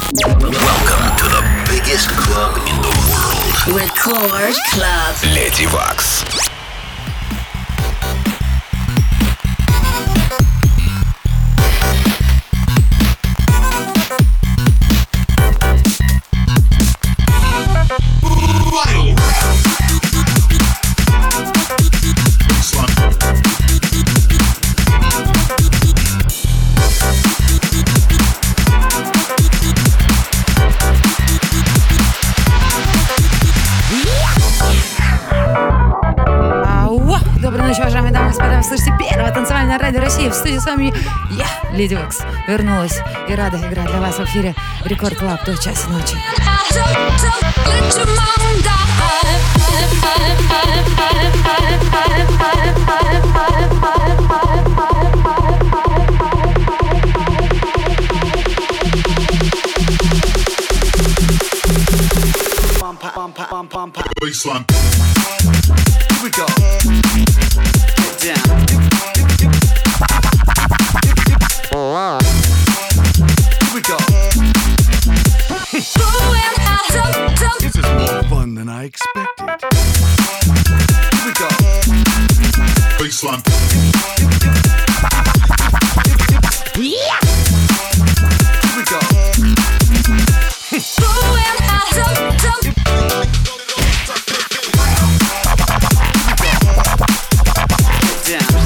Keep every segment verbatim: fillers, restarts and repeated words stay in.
Welcome to the biggest club in the world. Record Club. Леди Вакс. Слышите, первое танцевальное радио России. В студии с вами я, Леди Вакс, вернулась и рада играть для вас в эфире Рекорд Клаб до часа ночи. Baseline. Here we go. Get down. Here we go. This is more fun than I expected. Here we go. Baseline. Yeah. Here we go. Down.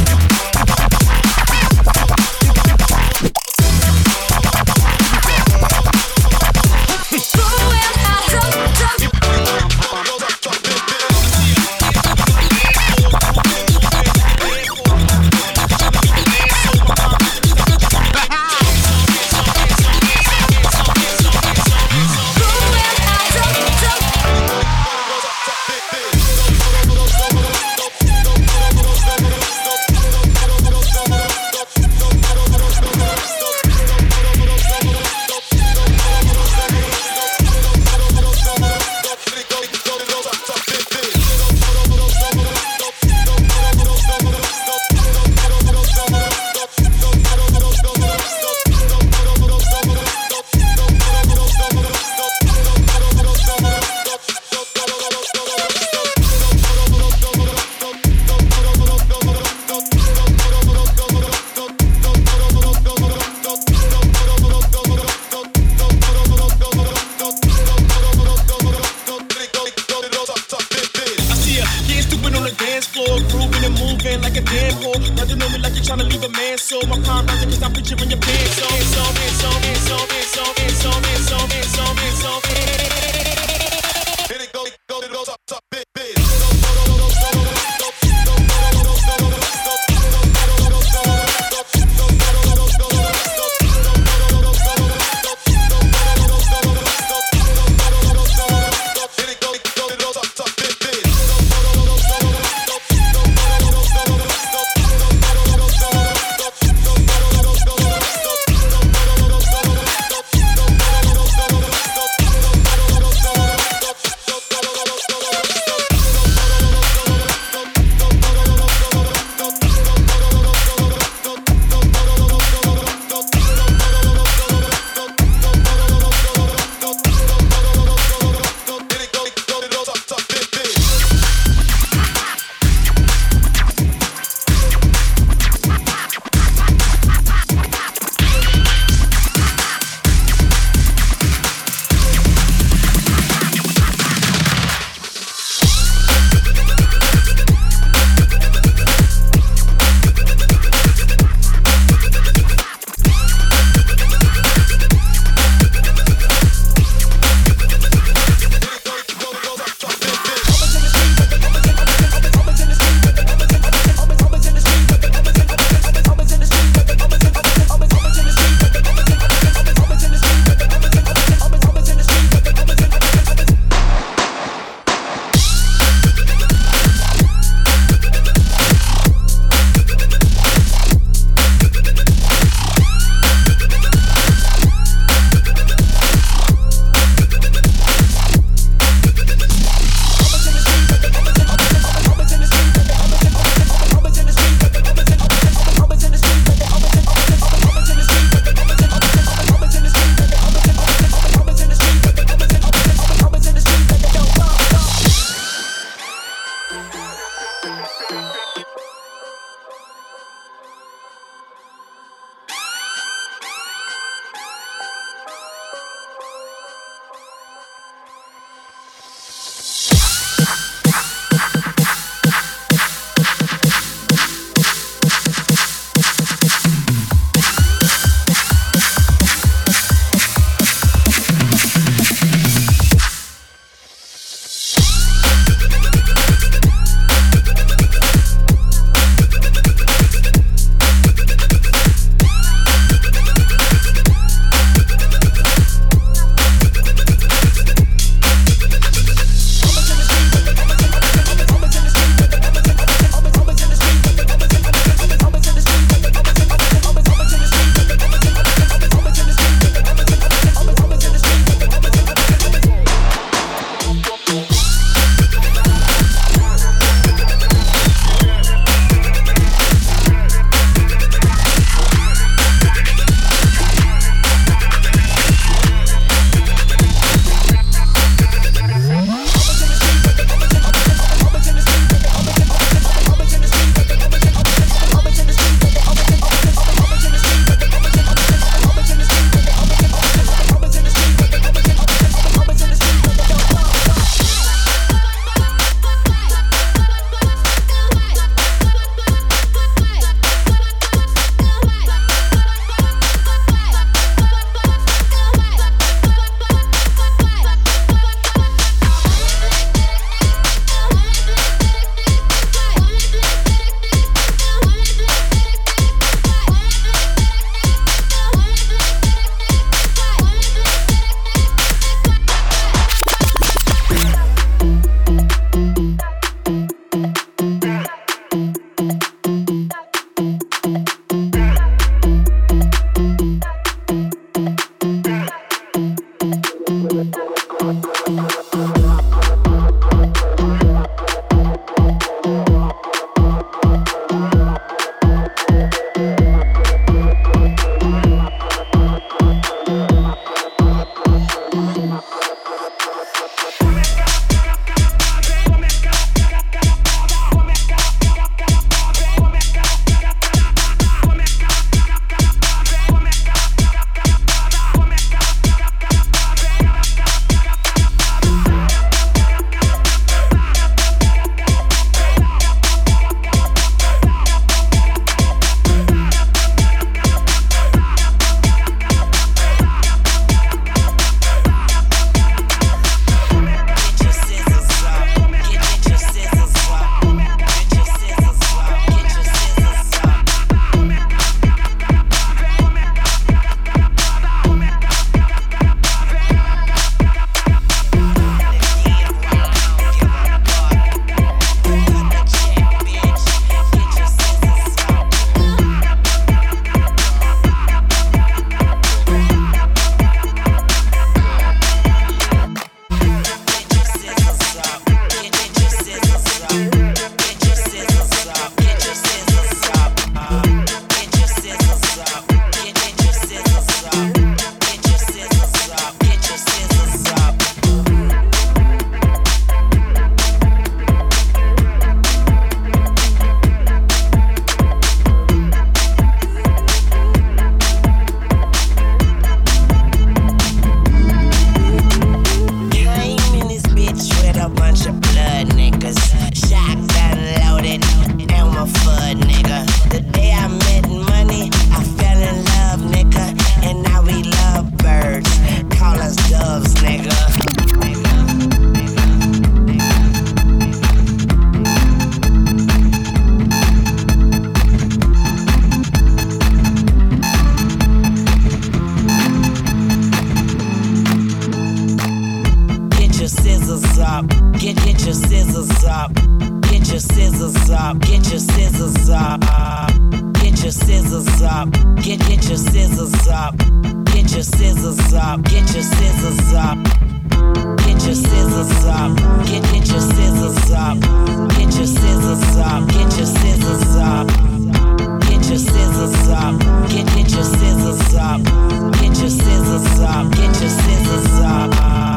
Get your scissors up. Get your scissors up. Get your scissors up. Get your scissors up. Get get your scissors up. Get your scissors up. Get your scissors up. Get your scissors up. Get get your scissors up. Get your scissors up. Get your scissors up. Get your scissors up. Get get your scissors up. Get your scissors up. Get your scissors up.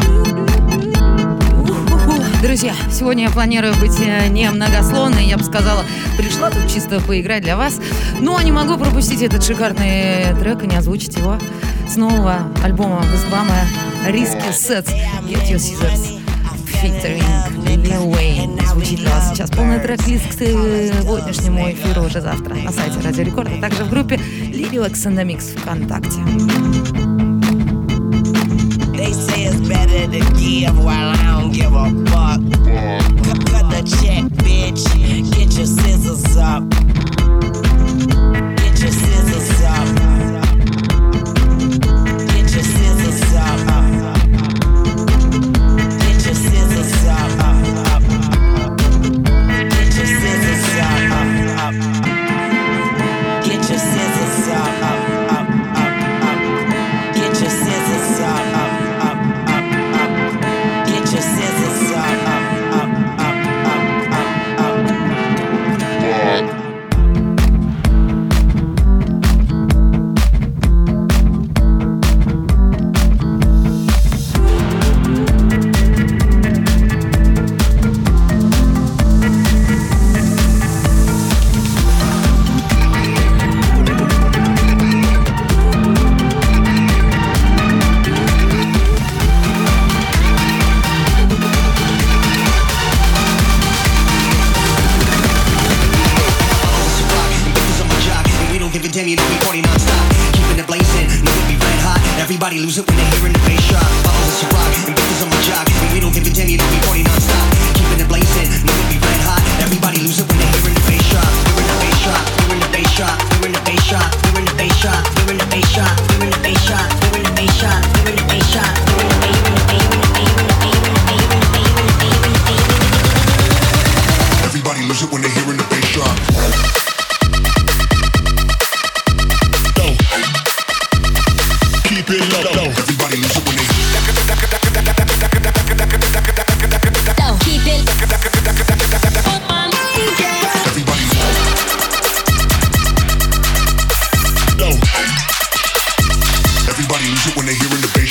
Друзья, сегодня я планирую быть не многословной, я бы сказала, пришла тут чисто поиграть для вас, но не могу пропустить этот шикарный трек и не озвучить его с нового альбома Вестбама Risky Sets Get Your Scissors featuring Lil Wayne. Звучит для вас сейчас полный трек-лист к сегодняшнему эфиру уже завтра на сайте Радио Рекорд, а также в группе Lady Wax and the Mix ВКонтакте. They say it's better to give while I don't give a fuck. Cut, cut the check, bitch. Get your scissors up. Get your scissors up. Get your scissors up. Get your scissors up. Get your scissors up. Get your scissors up. Get your scissors up. Everybody lose it when they hear in the bass drop. Balls to rock and bitches on my jock. And we don't give a damn, you know we party non-stop. Keeping it blazing, know it be red hot. Everybody lose it when they hear in the bass drop. We're in the bass drop, we're in the bass drop, we're in the bass drop, we're in the bass drop, we're in the bass drop, we're in the bass drop, we're in the bass drop, we're in the bass drop, we're in the bass drop. Everybody lose it when they hear in the bass drop. Keep it low, low. Everybody lose it when they low. Keep it everybody low. Everybody lose it when they hear in the bass.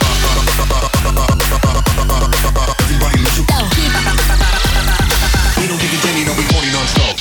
Everybody lose it. We don't give a damn, you know we party non-stop.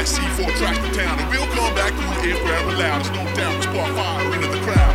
C four tracks to town, and we'll come back through the air forever loud. There's no doubt we spark fire into the crowd.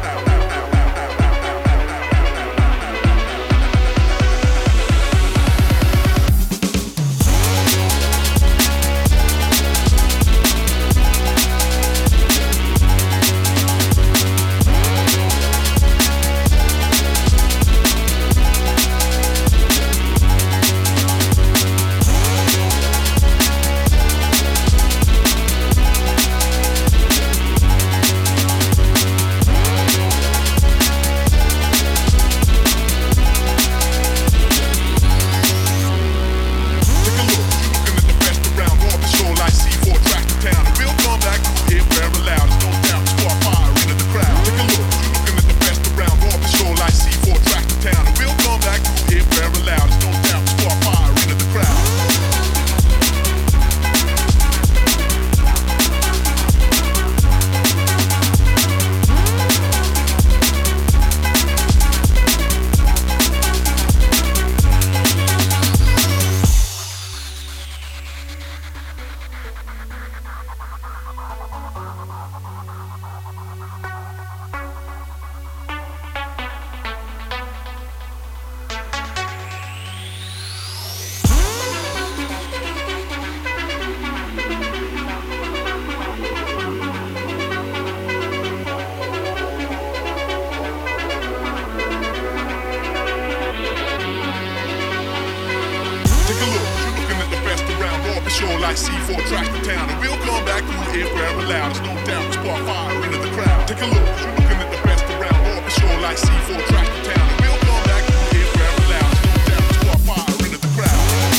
Like C four tracks to town, and we'll come back through the air forever loud. There's no doubt we spark fire into the crowd. Take a look, you're looking at the best around. Off the shore like C four tracks to town, and we'll come back through the air forever loud. There's no doubt we spark fire into the crowd.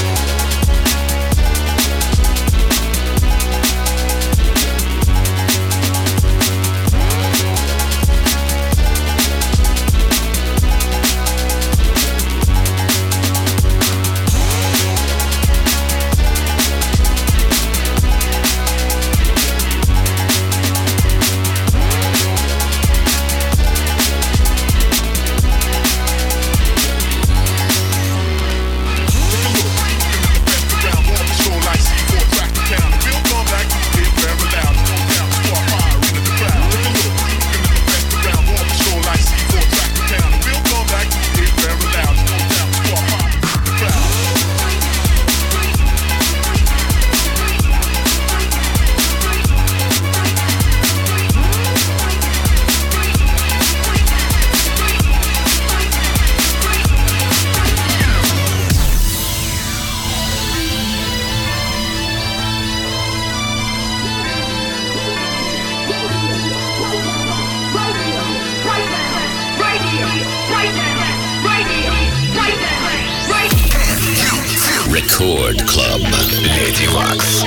Record Club Lady Wax.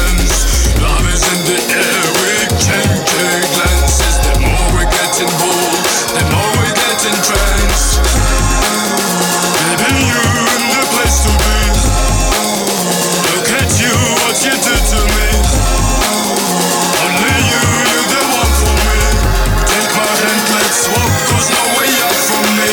dance. Love is in the air, we change glances. The more we're getting bold, the more we get entranced. Baby, you in the place to be. Look at you, what you do to me. Only you, you're the one for me. Take my hand, let's walk, cause no way out from me.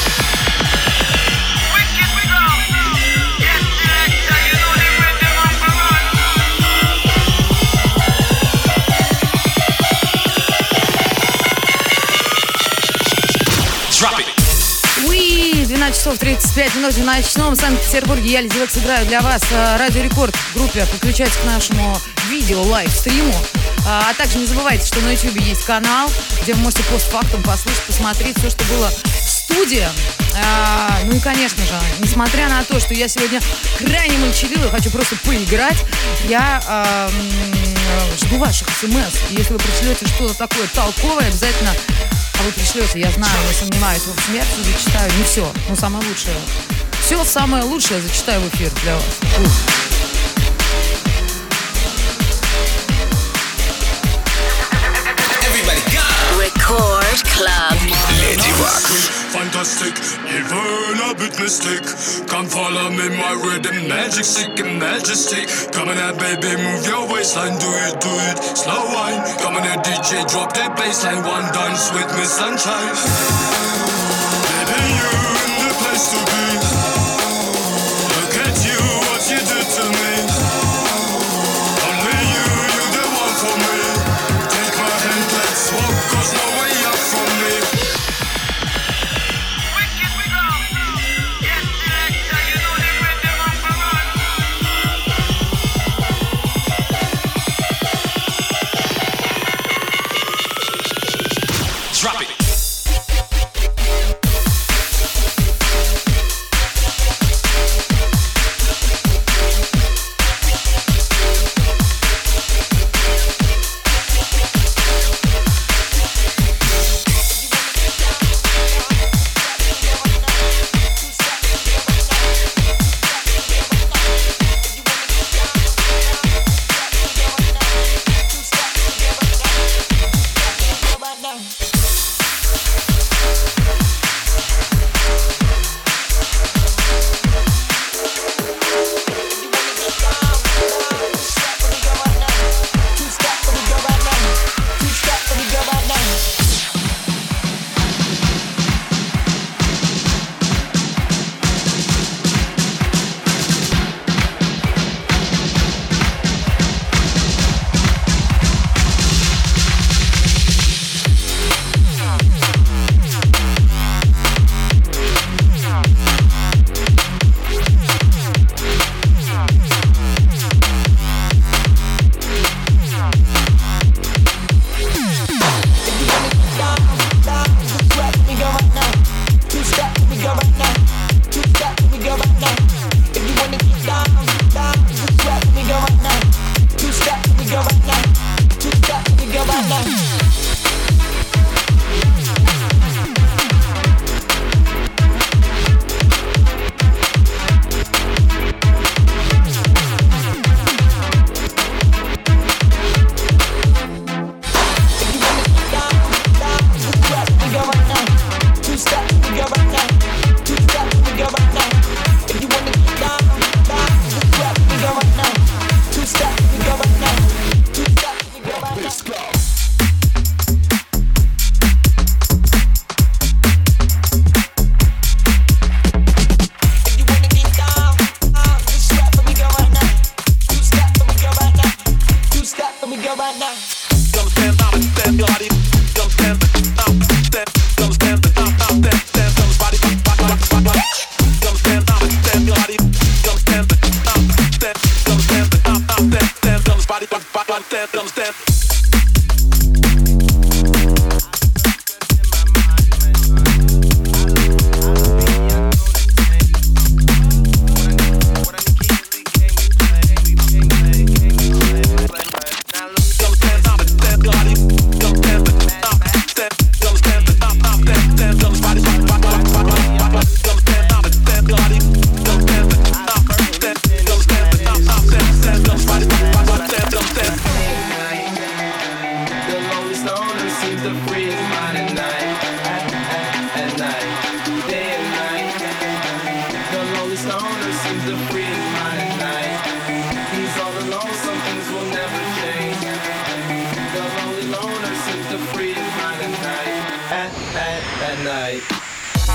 двенадцать часов тридцать пять минут в ночном Санкт-Петербурге. Я, Леди Вакс, играю для вас Радио Рекорд в группе. Подключайтесь к нашему видео, лайв-стриму. А также не забывайте, что на YouTube есть канал, где вы можете постфактум послушать, посмотреть все, что было в студии. А, ну и, конечно же, несмотря на то, что я сегодня крайне молчаливая, хочу просто поиграть, я а, жду ваших смс. Если вы пришлете что-то такое толковое, обязательно... А вы пришлете, я знаю, не сомневаюсь. В общем, я все зачитаю, не все, но самое лучшее. Все самое лучшее зачитаю в эфир для вас. Ух. Record Club. Lady Wax. Fantastic, even a bit mystic. Come follow me, my rhythm, magic, sick and majesty. Come on, now, baby, move your waistline, do it, do it, slow wine. Come on, now, D J, drop that bassline, one dance with me, sunshine. Baby, you in the place to be. Look at you, what you did to me. Only you, you're the one for me. Take my hand, let's walk, cause no way out from me. Drop it.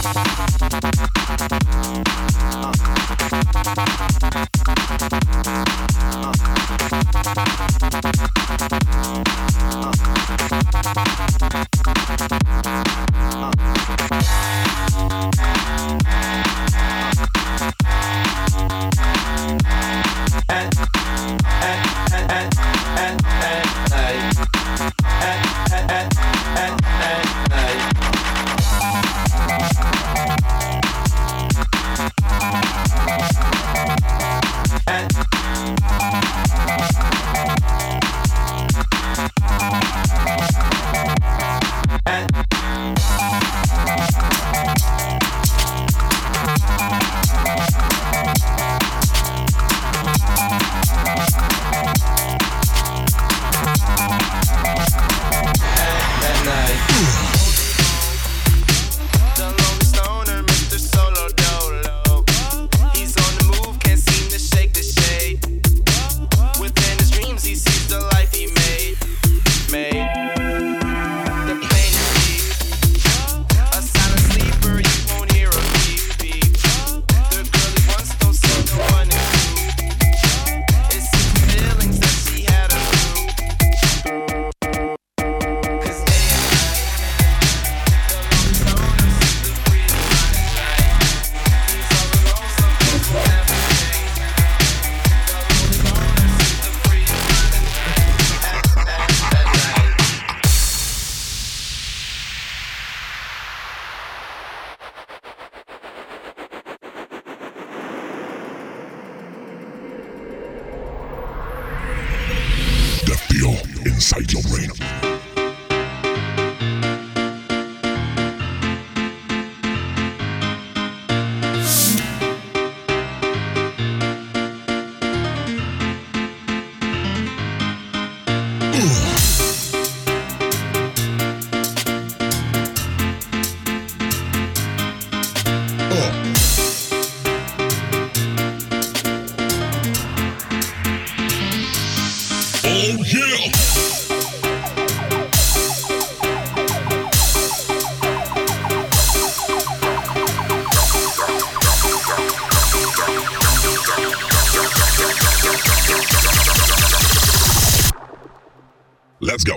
inside your brain. Let's go.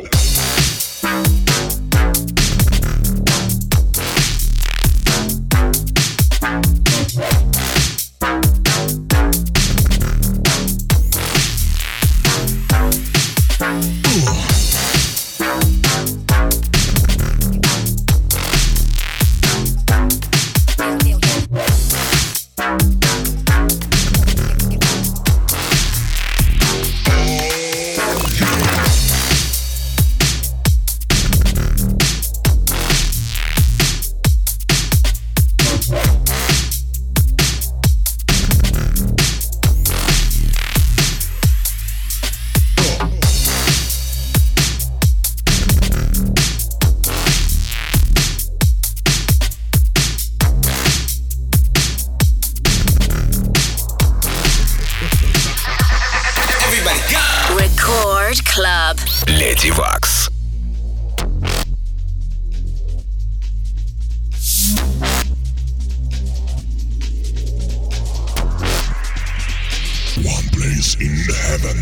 Record Club. Леди Вакс. One place in heaven.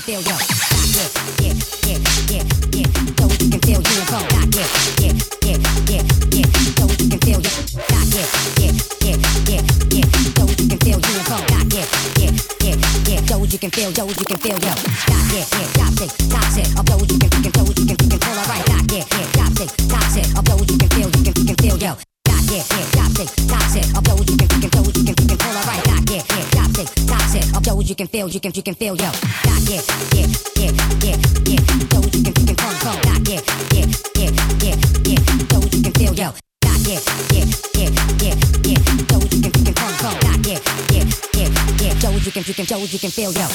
feel yo. Yeah, yeah, yeah, yeah, yeah. So you can feel you and phone. Yeah, yeah, yeah, yeah, yeah. So you can feel yo. Yeah, yeah, yeah, yeah, yeah. So you can feel you and phone. Yeah, yeah, yeah, yeah. So you can feel yo, you can feel yo. Yeah, yeah, yeah. Toxic, toxic. Of those you can, you can, so you can, you can feel alright. Yeah, yeah, yeah. Toxic, toxic. Of those you can feel, you can, you can feel yo. Yeah, yeah, toxic, toxic. Of those you can, you can, so you can, you can feel alright. Yeah, yeah, toxic, toxic. Of those you can feel, you can, you can feel yo. Yeah, yeah, yeah, yeah, yeah. Those you can, you can feel, feel. Yeah, yeah, yeah, yeah, yeah. Those you can feel yo. Yeah, yeah, yeah, yeah, yeah. Those you can, you can feel, feel. Yeah, yeah, yeah, yeah. Those you can, you can, those you can feel yo.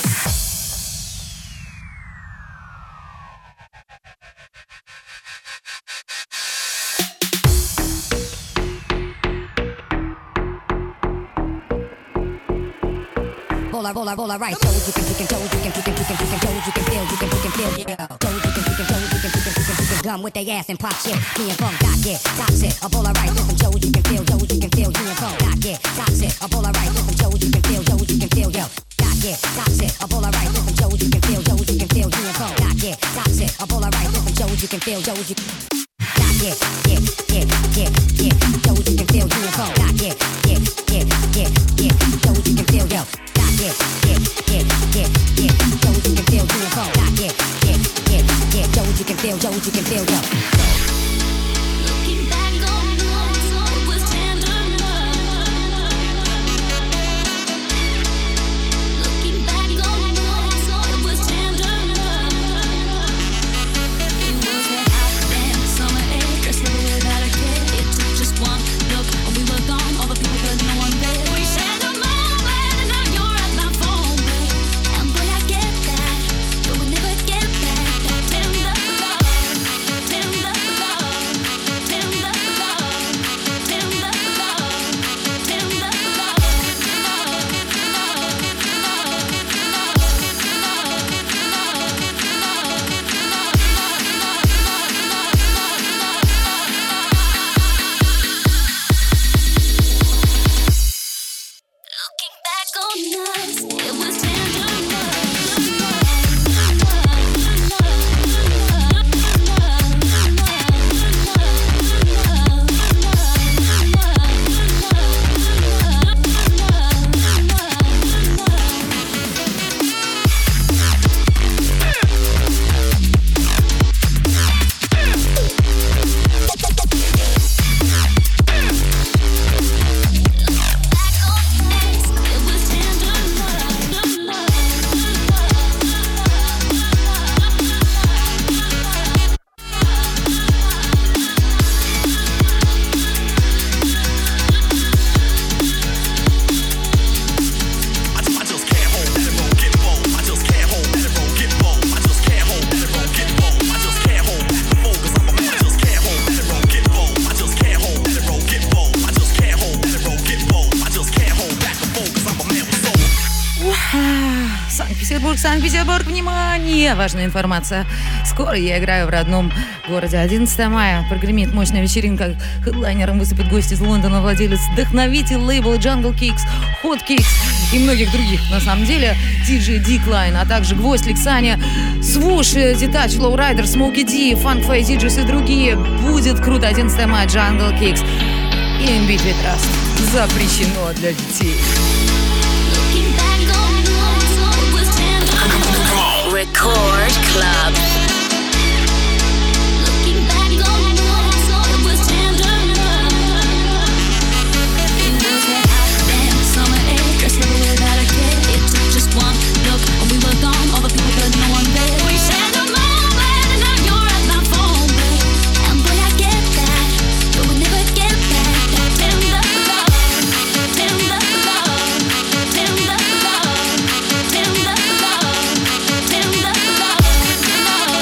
Roller, roller, roller, right. So you can, you can, so you can, you can, you can, you can, so you can feel, you can, you can feel, yeah. So you can, you can, so you can, you can, you can, you can gum with their ass and pop shit. Me and funk, got yeah, toxic. A roller, right. Different shows you can feel, shows you can feel, you and funk, got yeah, toxic. A roller, right. Different shows you can feel, shows you can feel, yo. Got yeah, toxic. A roller, right. Different shows you can feel, shows you can feel, you and funk, got yeah, toxic. A roller, right. Different shows you can feel, shows you. Got yeah, yeah, yeah, yeah, yeah. Shows you can feel, you and funk, got yeah, yeah, yeah, yeah, yeah. Shows you can feel, yo. Yeah, yeah, yeah, yeah, yeah. So you can feel, you and phone. Yeah, yeah, yeah, yeah. So you can feel, so you can feel, yo. Looking back on nights, it was tender love. Looking back on nights, it was tender love. It was that hot damn summer air, dressed without a care. It took just one look, and we were gone. All the people, but no one there. We shared a moment, and now you're at my phone, babe. And boy, I get that, but we'll never get back that tender love, tender love, tender love, tender love, tender love, love, Looking back on us, it was tender Санкт-Петербург, Санкт-Петербург, внимание! Важная информация. Скоро я играю в родном городе. одиннадцатого мая прогремит мощная вечеринка. Хедлайнером выступит гость из Лондона, владелец, вдохновитель лейбла Jungle Kicks, Hot Kicks и многих других. На самом деле, диджей Decline, а также Гвоздь, Лексаня, Свуш, Детач, Лоурайдер, Смоки Ди, Фанк Фэй Диджис и другие. Будет круто. одиннадцатого мая Jungle Kicks. И In Between Trust. Запрещено для детей. Record Club. Love.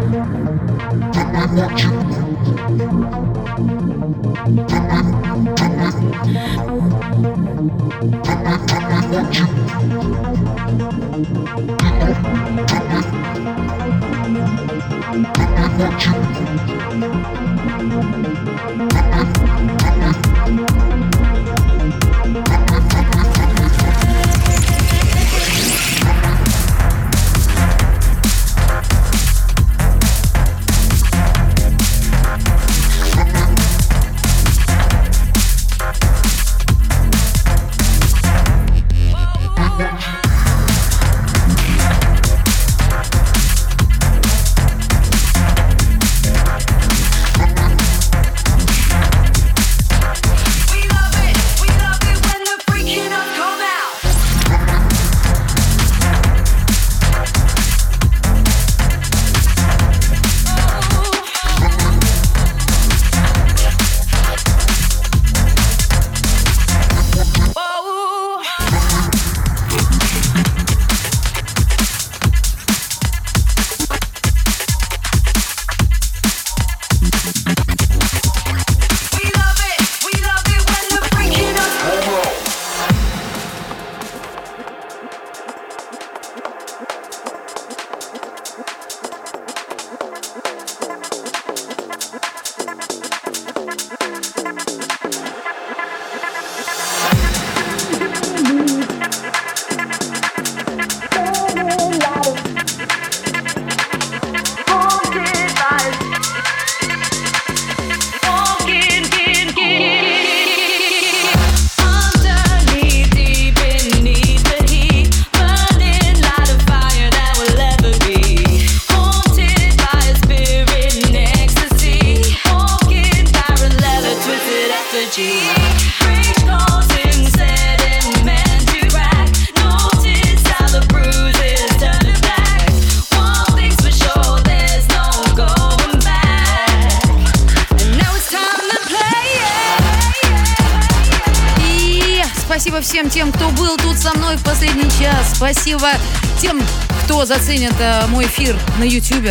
Всем тем, кто был тут со мной в последний час. Спасибо тем, кто заценит а, мой эфир на YouTube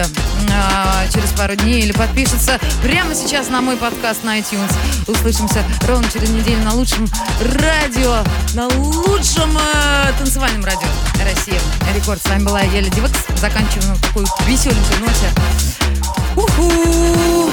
а, через пару дней или подпишется прямо сейчас на мой подкаст на iTunes. Услышимся ровно через неделю на лучшем радио, на лучшем а, танцевальном радио России. Рекорд. С вами была я, Леди Векс. Заканчиваем на такой веселенькой ноте. Уху!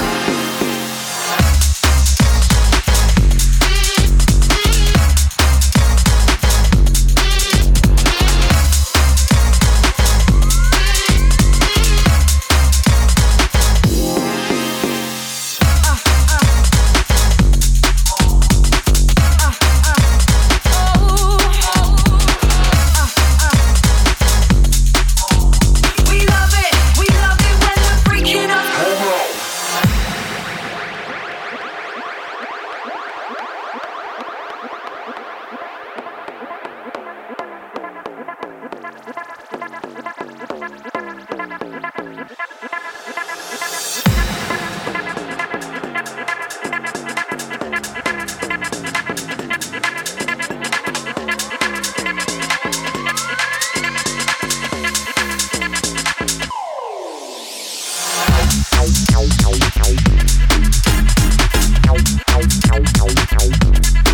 Ow, ow, ow, ow.